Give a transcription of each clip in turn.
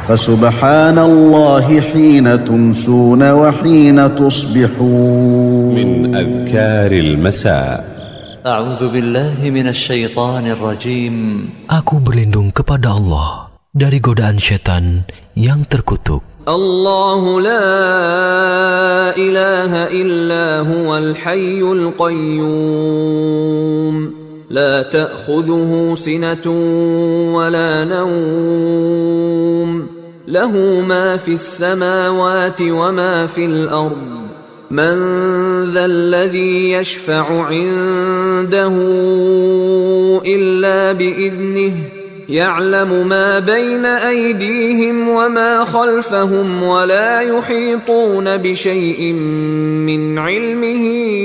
فسبحان الله حين تمسون وحين تصبحون. من أذكار المساء. أعوذ بالله من الشيطان الرجيم. Aku berlindung kepada Allah dari godaan syaitan yang terkutuk. الله لا إله إلا هو الحي القيوم لا تأخذه سنة ولا نوم له ما في السماوات وما في الأرض من ذا الذي يشفع عنده إلا بإذنه يعلم ما بين أيديهم وما خلفهم ولا يحيطون بشيء من علمه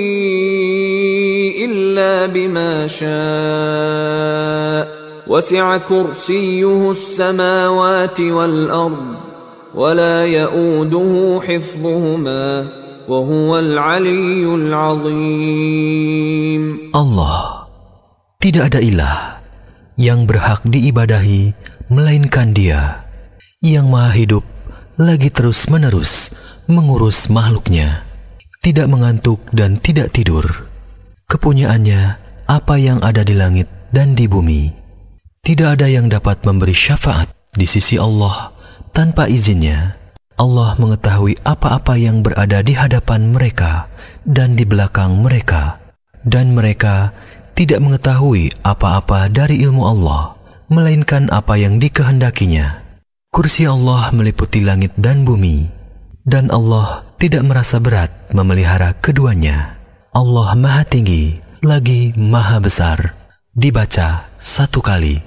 إلا بما شاء وسع كرسيه السماوات والأرض ولا يؤوده حفظهما وهو العلي العظيم. Allah, tidak ada ilah yang berhak diibadahi melainkan Dia, yang maha hidup lagi terus-menerus mengurus makhluknya, tidak mengantuk dan tidak tidur. Kepunyaannya apa yang ada di langit dan di bumi. Tidak ada yang dapat memberi syafaat di sisi Allah tanpa izinnya. Allah mengetahui apa-apa yang berada di hadapan mereka dan di belakang mereka, dan mereka tidak mengetahui apa-apa dari ilmu Allah, melainkan apa yang dikehendakinya. Kursi Allah meliputi langit dan bumi, dan Allah tidak merasa berat memelihara keduanya. Allah Maha Tinggi lagi Maha Besar. Dibaca satu kali.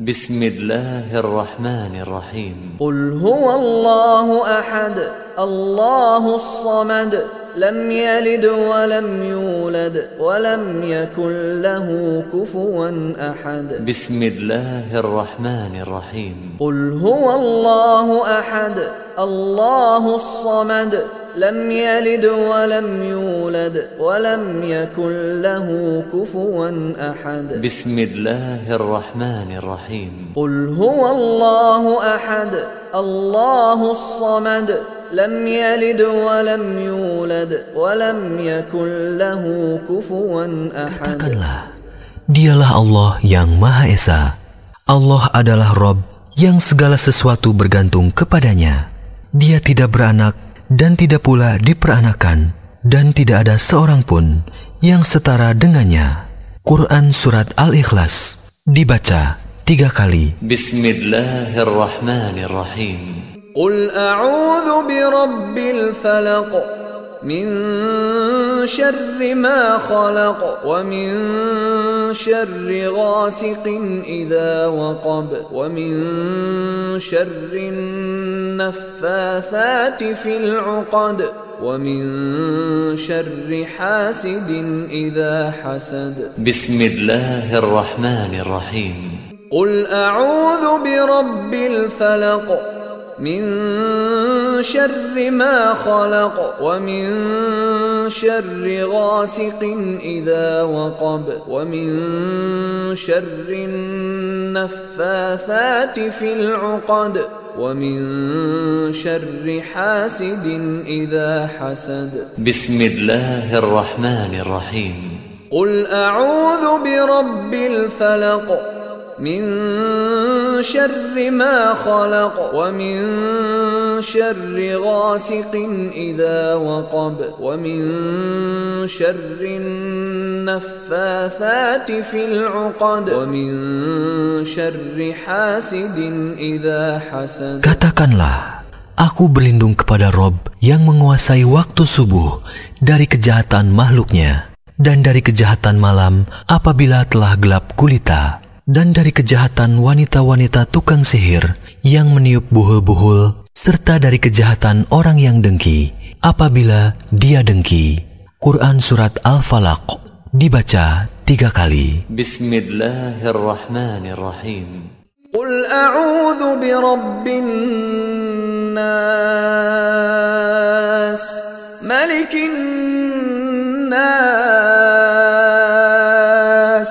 Bismillahirrahmanirrahim. Qul huwallahu ahad, Allahus samad, lam yalid wa lam yulad wa lam yakul lahu kufuwan ahad. Bismillahirrahmanirrahim. Qul huwallahu ahad, Allahus samad, lam yalid wa lam yulad wa lam yakul lahu kufuwan ahad. Bismillahirrahmanirrahim. Qul huwallahu ahad, Allahus samad, lam yalid wa lam yulad wa lam yakul lahu kufuwan ahad. Katakanlah, Dialah Allah yang Maha Esa. Allah adalah Rabb yang segala sesuatu bergantung kepadanya. Dia tidak beranak dan tidak pula diperanakan, dan tidak ada seorang pun yang setara dengannya. Quran Surat Al-Ikhlas. Dibaca 3 kali. Bismillahirrahmanirrahim. Qul a'udzu birabbil falaq min syarri ma khalaq wa min syarri ghasiqin idza waqab wa min syarri naffathati fil 'uqad wa min syarri hasidin idza hasad. Bismillahirrahmanirrahim. Qul a'udzu birabbil falaq min syarri ma khalaq wa min syarri ghasiqin idza waqab wa min syarri naffathati fil 'uqad wa min syarri hasidin idza hasad. Bismillahirrahmanirrahim. Qul a'udzu birabbil falaq min syarri ma khalaq wa min syarri ghasiqin idza waqab wa min syarri naffathati fil 'uqad wa min syarri hasidin idza hasad. Katakanlah, aku berlindung kepada Rob yang menguasai waktu subuh dari kejahatan makhluknya, dan dari kejahatan malam apabila telah gelap gulita, dan dari kejahatan wanita-wanita tukang sihir yang meniup buhul-buhul, serta dari kejahatan orang yang dengki apabila dia dengki. Quran Surat Al-Falaq. Dibaca 3 kali. Bismillahirrahmanirrahim. Qul a'udzu birabbin nas, malikin nas,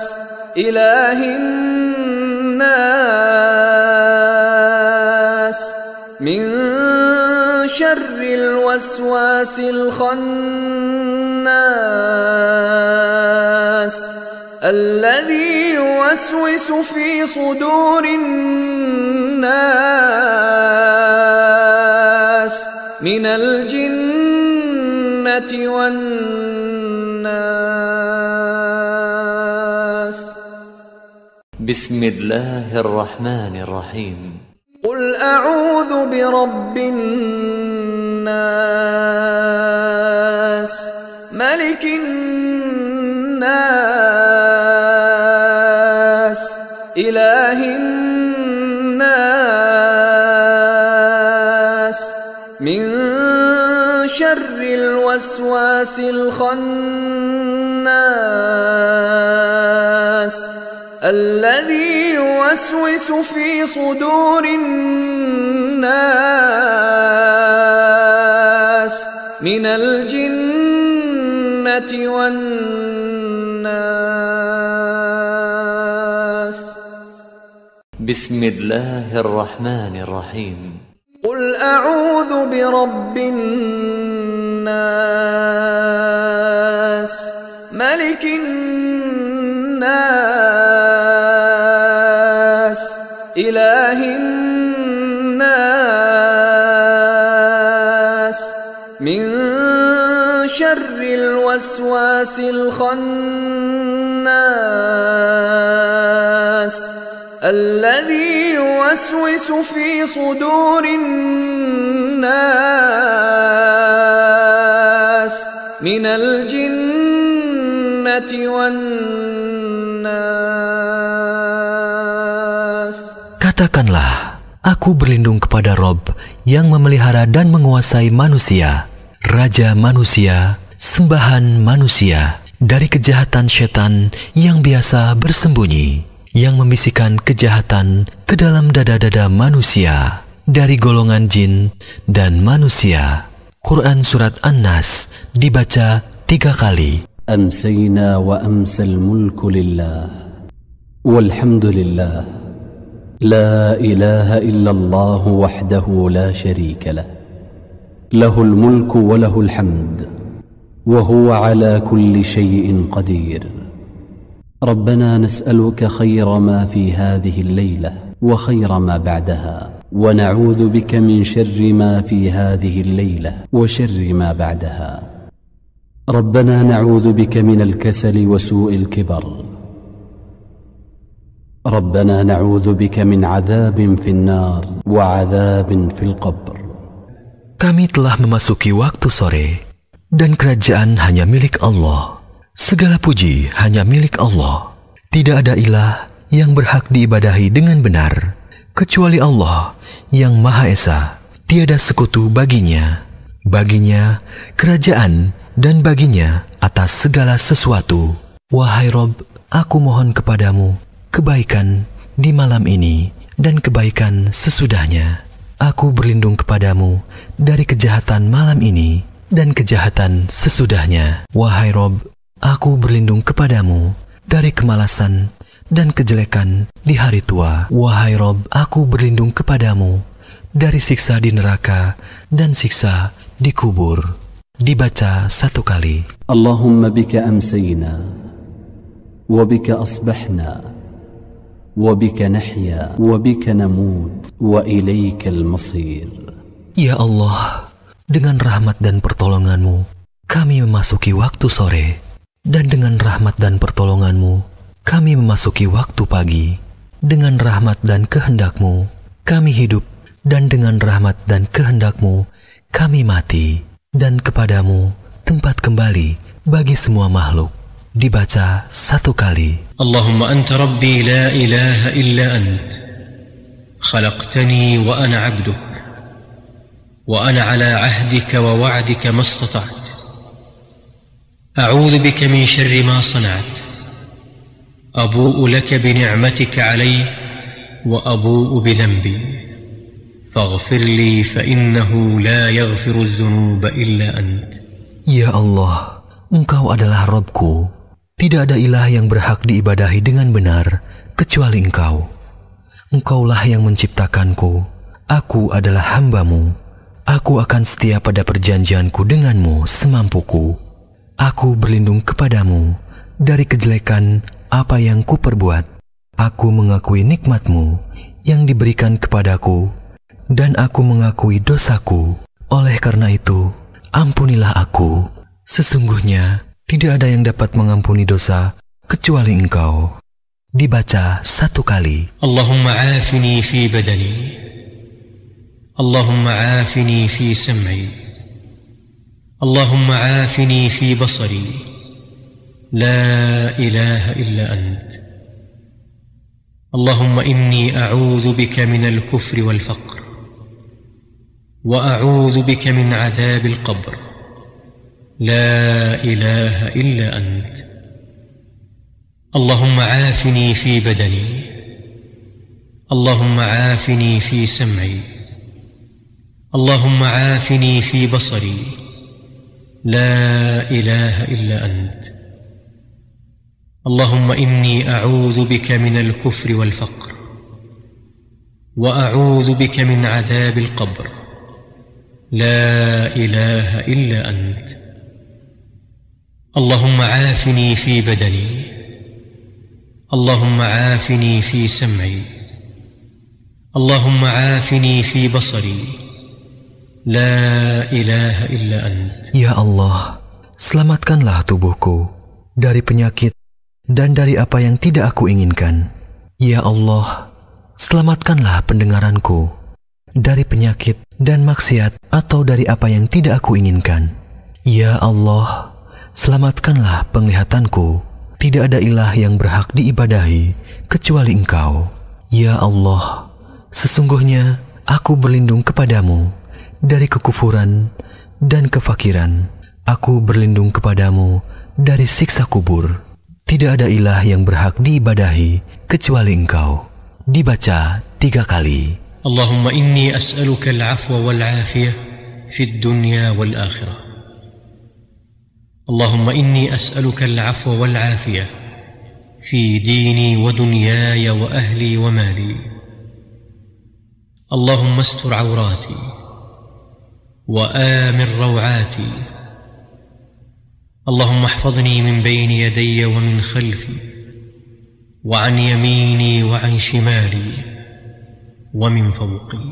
ilahin nas, شر الوسواس الخناس الذي يوسوس في صدور الناس من الجنة والناس. بسم الله الرحمن الرحيم. قل أعوذ برب الناس ملك الناس إله الناس من شر الوسواس الخناس الذي يوسوس في صدور الناس من الجنة والناس. بسم الله الرحمن الرحيم. قل أعوذ برب الناس ملك الناس إله الناس من شر الوسواس الخناس الذي يوسوس في صدور الناس من الجنة والناس. Katakanlah, aku berlindung kepada Rob yang memelihara dan menguasai manusia, Raja manusia, sembahan manusia, dari kejahatan setan yang biasa bersembunyi, yang membisikkan kejahatan ke dalam dada-dada manusia, dari golongan jin dan manusia. Quran Surat An-Nas dibaca 3 kali. أمسينا وأمسى الملك لله والحمد لله لا إله إلا الله وحده لا شريك له له الملك وله الحمد وهو على كل شيء قدير. ربنا نسألك خير ما في هذه الليلة وخير ما بعدها ونعوذ بك من شر ما في هذه الليلة وشر ما بعدها. ربنا نعوذ بك من الكسل وسوء الكبر. ربنا نعوذ بك من عذاب في النار وعذاب في القبر. Kami telah memasuki waktu sore, dan kerajaan hanya milik Allah. Segala puji hanya milik Allah. Tidak ada ilah yang berhak diibadahi dengan benar, kecuali Allah yang Maha Esa. Tiada sekutu baginya. Baginya kerajaan dan baginya atas segala sesuatu. Wahai Rob, aku mohon kepadamu kebaikan di malam ini dan kebaikan sesudahnya. Aku berlindung kepadamu dari kejahatan malam ini dan kejahatan sesudahnya. Wahai Rob, aku berlindung kepadamu dari kemalasan dan kejelekan di hari tua. Wahai Rob, aku berlindung kepadamu dari siksa di neraka dan siksa di kubur. Dibaca 1 kali. Allahumma bika amsayna wa bika asbahna wa bika nahya wa bika namut wa ilaikal masir. Ya Allah, dengan rahmat dan pertolonganmu kami memasuki waktu sore, dan dengan rahmat dan pertolonganmu kami memasuki waktu pagi. Dengan rahmat dan kehendakmu kami hidup, dan dengan rahmat dan kehendakmu kami mati, dan kepadamu tempat kembali bagi semua makhluk. Dibaca 1 kali. Allahumma anta rabbi la ilaha illa ant khalaqtani wa ana abduk wa ana ala ahdika wa wa'dika mastata'at a'udhu bika min syarri ma sana'at abu'u laka bi ni'matika alayya wa abu'u bi dhanbi faghfir li fa innahu la yaghfiru adh-dhunuba illa ant. Ya Allah, Engkau adalah Rabbku. Tidak ada ilah yang berhak diibadahi dengan benar kecuali Engkau. Engkaulah yang menciptakanku. Aku adalah hamba-Mu. aku akan setia pada perjanjianku denganmu semampuku. Aku berlindung kepadamu dari kejelekan apa yang kuperbuat. Aku mengakui nikmat-Mu yang diberikan kepadaku, dan aku mengakui dosaku. Oleh karena itu, ampunilah aku. Sesungguhnya tidak ada yang dapat mengampuni dosa kecuali Engkau. Dibaca 1 kali. Allahumma afini fi badani, Allahumma afini fi sam'i, Allahumma afini fi basari, la ilaha illa ant. Allahumma inni a'udhu bika min al-kufri wal-faqr, wa a'udhu bika min adhab al-qabr, la ilaha illa ant. Allahumma afini fi badani, Allahumma afini fi sam'i, Allahumma afini fi basari, la ilaha illa ant. Allahumma inni a'udhu bika min al-kufri wal-faqr, wa a'udhu bika min adhab al-qabr, la ilaha illa ant. Allahumma afini fi badani, Allahumma afini fi sam'i, Allahumma afini fi basari, la ilaha illa ant. Ya Allah, selamatkanlah tubuhku dari penyakit dan dari apa yang tidak aku inginkan. Ya Allah, selamatkanlah pendengaranku dari penyakit dan maksiat atau dari apa yang tidak aku inginkan. Ya Allah, selamatkanlah penglihatanku. Tidak ada ilah yang berhak diibadahi kecuali Engkau. Ya Allah, sesungguhnya aku berlindung kepadamu dari kekufuran dan kefakiran. Aku berlindung kepadamu dari siksa kubur. Tidak ada ilah yang berhak diibadahi kecuali Engkau. Dibaca 3 kali. Allahumma inni as'aluka al-'afwa wal-'afiyah fi ad-dunya wal-akhirah. Allahumma inni as'aluka al-'afwa wal-'afiyah fi dini wa dunyaya wa ahli wa mali. Allahumma astur 'awrati wa amir raw'ati. اللهم احفظني من بين يدي ومن خلفي وعن يميني وعن شمالي ومن فوقي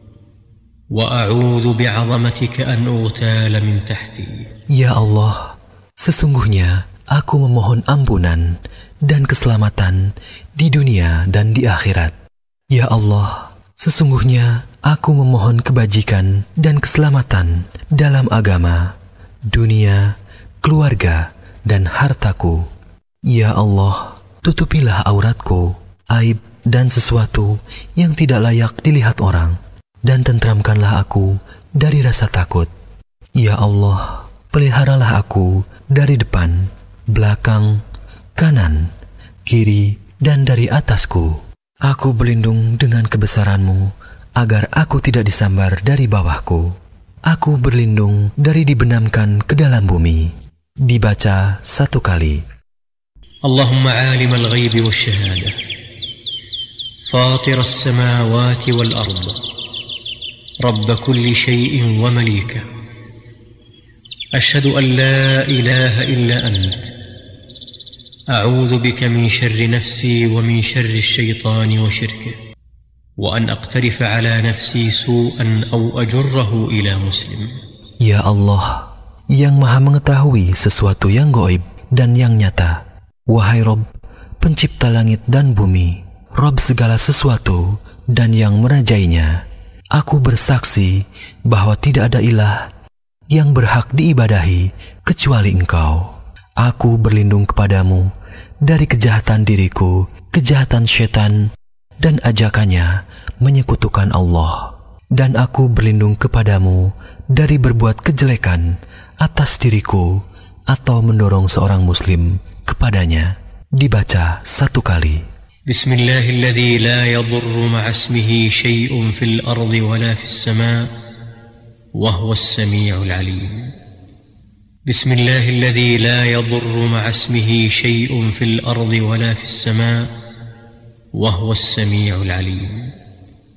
وأعوذ بعظمتك أن أغتال من تحتي. Ya Allah, sesungguhnya aku memohon ampunan dan keselamatan di dunia dan di akhirat. Ya Allah, sesungguhnya aku memohon kebajikan dan keselamatan dalam agama, dunia, keluarga, dan hartaku. Ya Allah, tutupilah auratku, aib dan sesuatu yang tidak layak dilihat orang, dan tentramkanlah aku dari rasa takut. Ya Allah, peliharalah aku dari depan, belakang, kanan, kiri, dan dari atasku. Aku berlindung dengan kebesaran-Mu agar aku tidak disambar dari bawahku. Aku berlindung dari dibenamkan ke dalam bumi. Dibaca 1 kali. Allahumma 'alim al-ghaybi wash-shahada, fatir as-samawati wal-ard, rabb kulli shay'in wa malika. Ashhadu an la ilaha illa ant. A'udhu bika min sharri nafsi wa min sharri asy-syaitani wa syirkihi, wa an aqtarifa ala nafsi su'an aw ajurrahu ila muslim. Ya Allah, yang maha mengetahui sesuatu yang gaib dan yang nyata. Wahai Rob, pencipta langit dan bumi, Rob segala sesuatu dan yang merajainya, aku bersaksi bahwa tidak ada ilah yang berhak diibadahi kecuali Engkau. Aku berlindung kepadamu dari kejahatan diriku, kejahatan syaitan, dan ajakannya menyekutukan Allah. Dan aku berlindung kepadamu dari berbuat kejelekan atas diriku atau mendorong seorang muslim kepadanya. Dibaca 1 kali. Bismillahilladzi la yadurru ma'a ismihi syai'un fil ardi wala fis sama' wa huwas sami'ul 'alim. Bismillahilladzi la yadurru ma'a ismihi syai'un fil ardi wala fis sama' wa huwas sami'ul 'alim.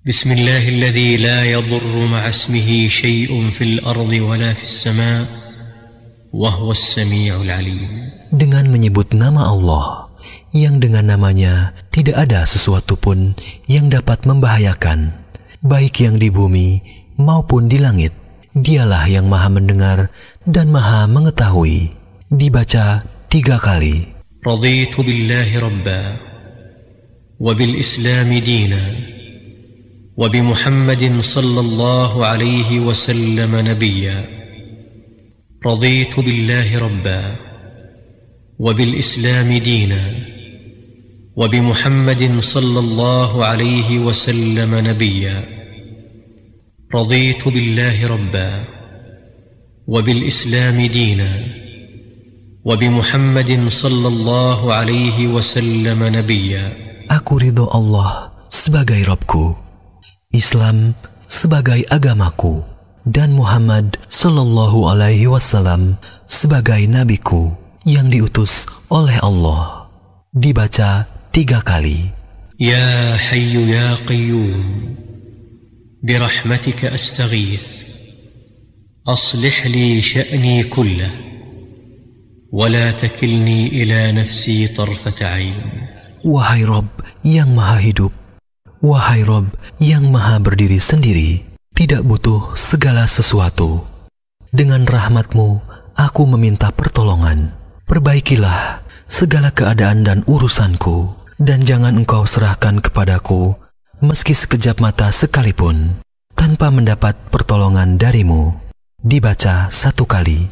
بسم الله الذي لا يضر مع اسمه شيء في الأرض ولا في السماء وهو السميع العليم. Dengan menyebut nama Allah, yang dengan namanya tidak ada sesuatu pun yang dapat membahayakan, baik yang di bumi maupun di langit. Dialah yang maha mendengar dan maha mengetahui. Dibaca 3 kali. رضيت بالله ربا وبالإسلام دينا وبمحمد صلى الله عليه وسلم نبيا. رضيت بالله ربا وبالإسلام دينا وبمحمد صلى الله عليه وسلم نبيا. رضيت بالله ربا وبالإسلام دينا وبمحمد صلى الله عليه وسلم نبيا. Aku ridho Allah sebagai Rabbku, Islam sebagai agamaku, dan Muhammad sallallahu alaihi wasallam sebagai nabiku yang diutus oleh Allah. Dibaca 3 kali. Ya Hayyu ya Qayyum برحمتك أستغيث أصلح لي شأني كله ولا تكلني إلى نفسي طرفة عين. Wahai Rabb yang maha hidup, wahai Rabb yang maha berdiri sendiri, tidak butuh segala sesuatu. Dengan rahmat-Mu aku meminta pertolongan. Perbaikilah segala keadaan dan urusanku, dan jangan Engkau serahkan kepadaku meski sekejap mata sekalipun tanpa mendapat pertolongan dari-Mu. Dibaca 1 kali.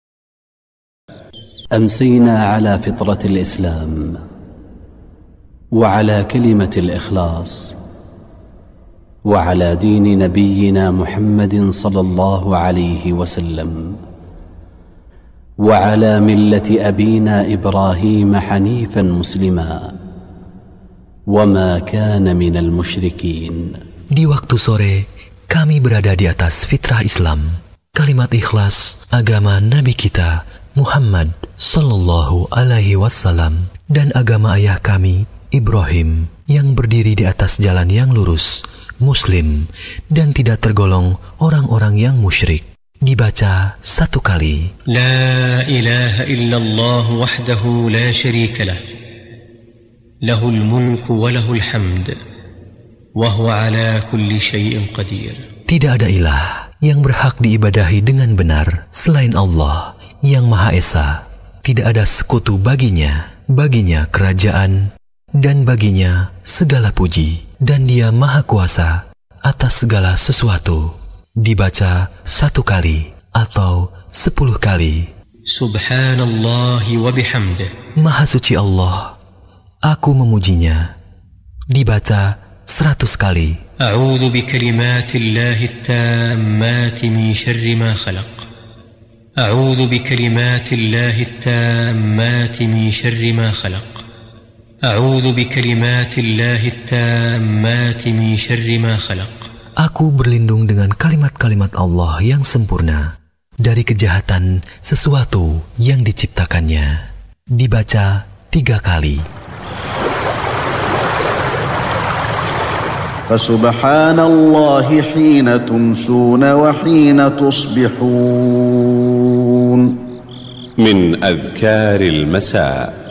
أمسينا على فطرة الإسلام وعلى كلمة الإخلاص وعلى دين نبينا محمد صلى الله عليه وسلم وعلى ملة أبينا إبراهيم حنيفا مسلما وما كان من المشركين. Di waktu sore, kami berada di atas fitrah Islam, kalimat ikhlas agama Nabi kita Muhammad sallallahu alaihi wasallam, dan agama ayah kami Ibrahim yang berdiri di atas jalan yang lurus, muslim, dan tidak tergolong orang-orang yang musyrik. Dibaca 1 kali. La ilaha illallah wahdahu la syarika lah, lahul mulku wa lahul hamd wa huwa ala kulli syai'in qadir. Tidak ada ilah yang berhak diibadahi dengan benar selain Allah yang Maha Esa. Tidak ada sekutu baginya, baginya kerajaan, dan baginya segala puji, dan Dia Maha Kuasa atas segala sesuatu. Dibaca 1 kali atau 10 kali. Subhanallah wa bihamdih. Maha suci Allah, aku memujinya. Dibaca 100 kali. A'udzu bikalimatillahi tammati min syarri ma khalaq. أعوذ بكلمات الله التامات من شر ما خلق. أعوذ بكلمات الله التامات من شر ما خلق. Aku berlindung dengan kalimat-kalimat Allah yang sempurna dari kejahatan sesuatu yang diciptakannya. Dibaca 3 kali. فسبحان الله حين تمسون وحين تصبحون. من أذكار المساء.